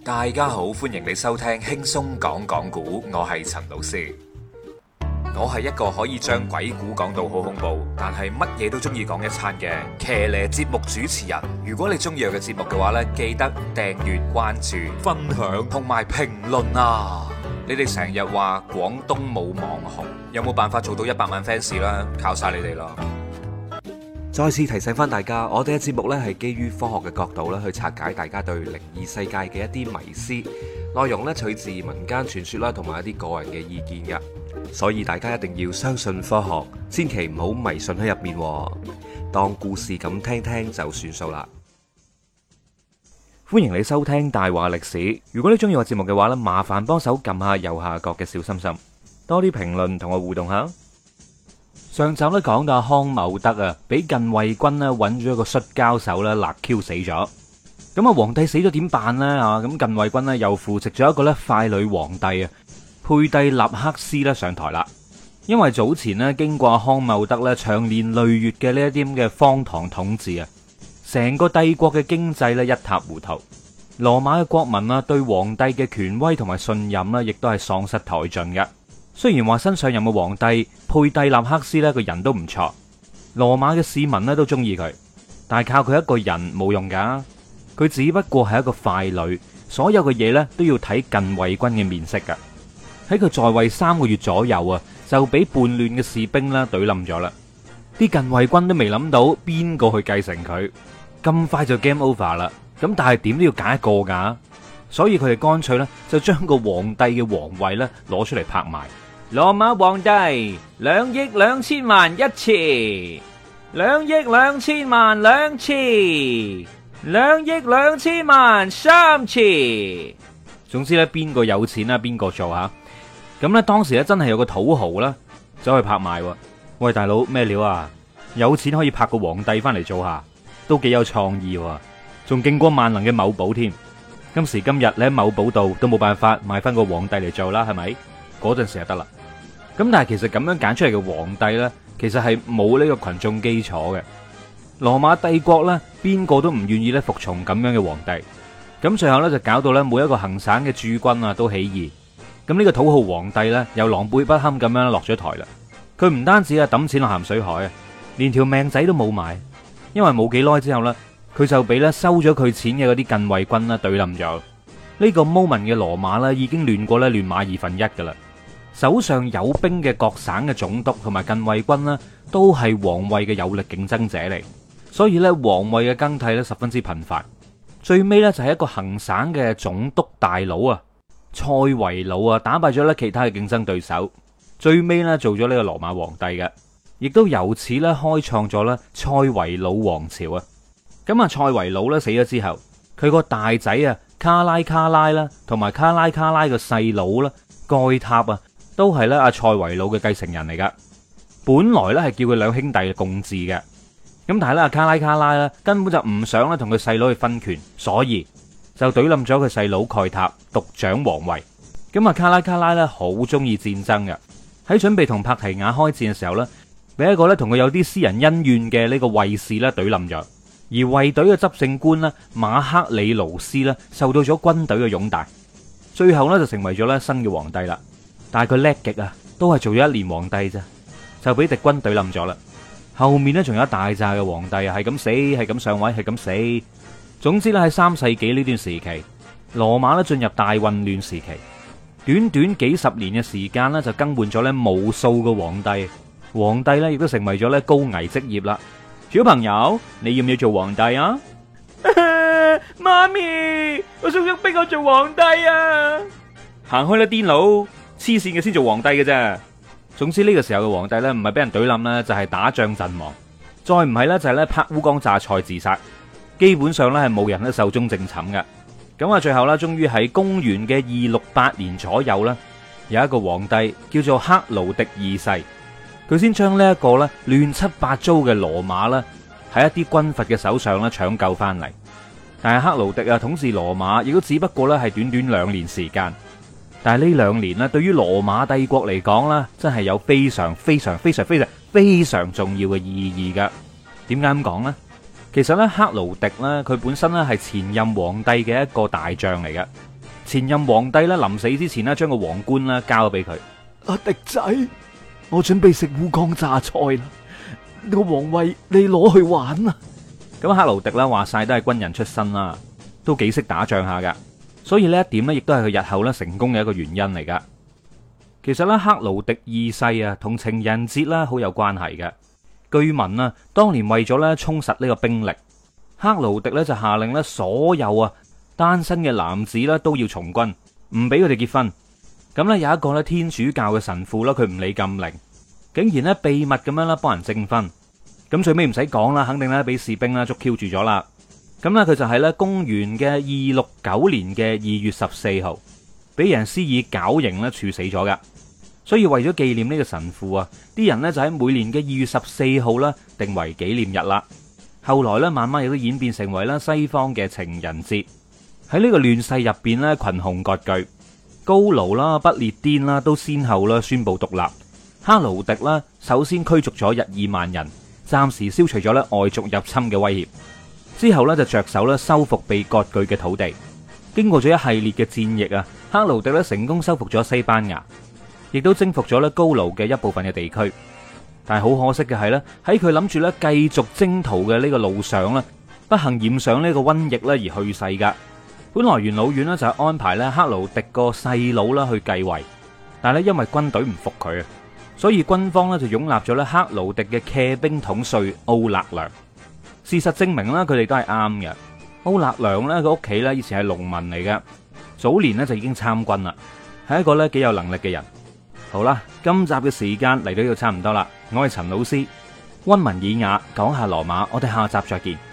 大家好，歡迎你收聽輕鬆講講古，我係陳老師。我係一個可以將鬼故講到好恐怖，但係乜嘢都中意講一餐嘅騎呢節目主持人。如果你中意我嘅節目嘅話呢，記得訂閱、關注、分享同埋評論啊！你哋成日話廣東冇網紅，有冇辦法做到100萬 fans 啦？靠晒你哋咯！再次提醒翻大家，我哋嘅節目呢係基於科學嘅角度咧去拆解大家對靈異世界嘅一啲迷思，內容呢取自民間傳說啦，同埋一啲個人嘅意見嘅，所以大家一定要相信科學，千祈唔好迷信喺入面，當故事咁聽聽就算數啦。歡迎你收聽大話歷史。如果你中意我節目嘅話呢，麻煩幫手撳下右下角嘅小心心，多啲評論同我互動下。上集咧講到康某德啊，俾近衛軍咧揾咗一個摔跤手咧勒 Q 死咗。咁啊，皇帝死咗點辦呢？咁近衛軍咧又扶植咗一個咧傀儡皇帝啊，佩蒂納克斯咧上台啦。因為早前咧經過康某德咧長年累月嘅呢一啲咁嘅荒唐統治啊，成個帝國嘅經濟咧一塌糊塗。羅馬嘅國民啊對皇帝嘅權威同埋信任咧，亦都係喪失殆盡嘅。雖然話新上任嘅皇帝佩蒂納克斯呢個人都唔錯，羅馬嘅市民呢都中意佢，但係靠佢一個人冇用噶，佢只不過係一個傀儡，所有嘅嘢呢都要睇近衛軍嘅面色噶。喺佢在位3個月左右啊，就俾叛亂嘅士兵啦懟冧咗啦。啲近衛軍都未諗到邊個去繼承佢，咁快就 game over 啦。咁但係點都要揀一個噶，所以佢哋乾脆呢就將個皇帝嘅皇位呢攞出嚟拍賣。羅馬皇帝2億2千萬1次，2億2千萬2次，2億2千萬3次。總之咧，邊個有錢啦，邊個做吓。咁咧，當時咧真係有個土豪啦，走去拍賣。喂，大佬咩料啊？有錢可以拍個皇帝翻嚟做下，都幾有創意，仲勁過萬能嘅某寶添。今時今日你喺某寶度都冇辦法買翻個皇帝嚟做啦，係咪？嗰陣時就得啦。咁但係其實咁樣揀出嚟嘅皇帝呢，其實係冇呢個群眾基礎嘅。羅馬帝國呢，邊個都唔願意咧服從咁樣嘅皇帝。咁最後呢，就搞到呢每一個行省嘅駐軍啊都起義。咁呢個土豪皇帝呢，又狼狽不堪咁樣落咗台啦。佢唔單止啊抌錢落鹹水海啊，連條命仔都冇埋。因為冇幾耐之後呢，佢就俾咧收咗佢錢嘅嗰啲近衛軍啦懟冧咗。呢個 moment 嘅羅馬呢，已經亂過咧亂馬2分1噶啦。手上有兵嘅各省嘅總督同埋近衛軍呢，都係皇位嘅有力競爭者嚟，所以咧皇位嘅更替咧十分之頻繁。最尾咧就係一個行省嘅總督大佬啊，塞維魯啊，打敗咗咧其他嘅競爭對手，最尾咧做咗呢個羅馬皇帝嘅，亦都由此咧開創咗咧塞維魯王朝啊。咁啊，塞維魯咧死咗之後，佢個大仔啊卡拉啦，同埋卡拉嘅細佬啦蓋塔啊，都係咧阿塞維魯嘅繼承人嚟噶。本來咧係叫佢兩兄弟共治嘅，咁但係咧阿卡拉咧根本就唔想咧同佢細佬去分權，所以就懟冧咗佢細佬蓋塔獨掌皇位。咁啊卡拉咧好中意戰爭嘅，喺準備同帕提亞開戰嘅時候咧，俾一個咧同佢有啲私人恩怨嘅呢個衛士咧懟冧咗。而衛隊嘅執政官咧馬克里勞斯咧受到咗軍隊嘅擁戴，最後咧就成為咗咧新嘅皇帝啦。但係佢叻極啊，都係做咗1年皇帝咋，就俾敵軍懟冧咗啦。後面咧仲有一大扎嘅皇帝啊，係咁死，係咁上位，係咁死。總之咧喺3世紀呢段時期，羅馬咧進入大混亂時期，短短幾十年嘅時間咧就更換咗咧無數個皇帝，皇帝咧亦都成為咗咧高危職業啦。小朋友，你要唔要做皇帝啊？媽咪，我叔叔逼我做皇帝啊！行開啦，癲佬！黐線嘅先做皇帝嘅啫。總之呢個時候嘅皇帝呢，唔係俾人懟冧啦，就係打仗陣亡，再唔係呢，就係咧拍烏江榨菜自殺。基本上呢，係冇人咧壽終正寢嘅。咁啊，最後呢，終於喺公元嘅268年左右呢，有一個皇帝叫做克勞迪二世。佢先將呢一個咧亂七八糟嘅羅馬咧喺一啲軍閥嘅手上咧搶救翻嚟，但係克勞迪啊統治羅馬亦都只不過咧係短短2年時間，但係呢2年咧對於羅馬帝國嚟講咧真係有非常重要嘅意義噶。點解咁講呢？其實咧克勞迪咧佢本身咧係前任皇帝嘅一個大將嚟嘅， 前任皇帝咧臨死之前咧將個皇冠啦交咗俾佢。 阿迪仔，我準備食烏江榨菜啦，個皇位你攞去玩啊！ 咁克勞迪啦話晒都係軍人出身啦，都幾識打仗下噶，所以呢一點咧亦都係佢日後咧成功嘅一個原因嚟噶。其實咧克勞迪二世啊同情人節啦好有關係嘅。據聞啊，當年為咗咧充實呢個兵力，克勞迪咧就下令咧所有啊單身嘅男子咧都要從軍，唔俾佢哋結婚。咁咧有一個咧天主教嘅神父啦，佢唔理禁令，竟然咧秘密咁樣啦幫人證婚。咁最尾唔使講啦，肯定咧俾士兵啦捉 Q 住咗啦。咁咧佢就係咧公元嘅269年嘅2月14號，俾人施以絞刑咧處死咗噶。所以為咗紀念呢個神父啊，啲人呢就喺每年嘅2月14號啦定為紀念日啦。後來咧慢慢亦都演變成為啦西方嘅情人節。喺呢個亂世入邊咧，群雄割據，高盧啦、不列顛啦都先後啦宣布獨立。克勞迪啦首先驅逐咗日耳曼人，暫時消除咗咧外族入侵嘅威脅。之後咧就着手咧收復被割據嘅土地。經過咗一系列嘅戰役啊，克勞迪咧成功收復咗西班牙。亦都征服咗咧高盧嘅一部分嘅地區，但係好可惜嘅係咧，喺佢諗住咧繼續征途嘅呢個路上咧，不幸染上呢個瘟疫咧而去世噶。本來元老院咧就係安排咧克勞迪個細佬啦去繼位，但係咧因為軍隊唔服佢啊，所以軍方咧就擁立咗咧克勞迪嘅騎兵統帥奧勒良。事實證明啦，佢哋都係啱嘅。奧勒良咧佢屋企咧以前係農民嚟嘅，早年咧就已經參軍啦，係一個咧幾有能力嘅人。好啦，今集嘅時間嚟到呢度差唔多啦，我係陳老師，溫文爾雅講下羅馬，我哋下集再見。